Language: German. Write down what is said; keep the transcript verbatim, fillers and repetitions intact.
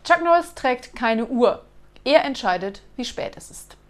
Chuck Norris trägt keine Uhr. Er entscheidet, wie spät es ist.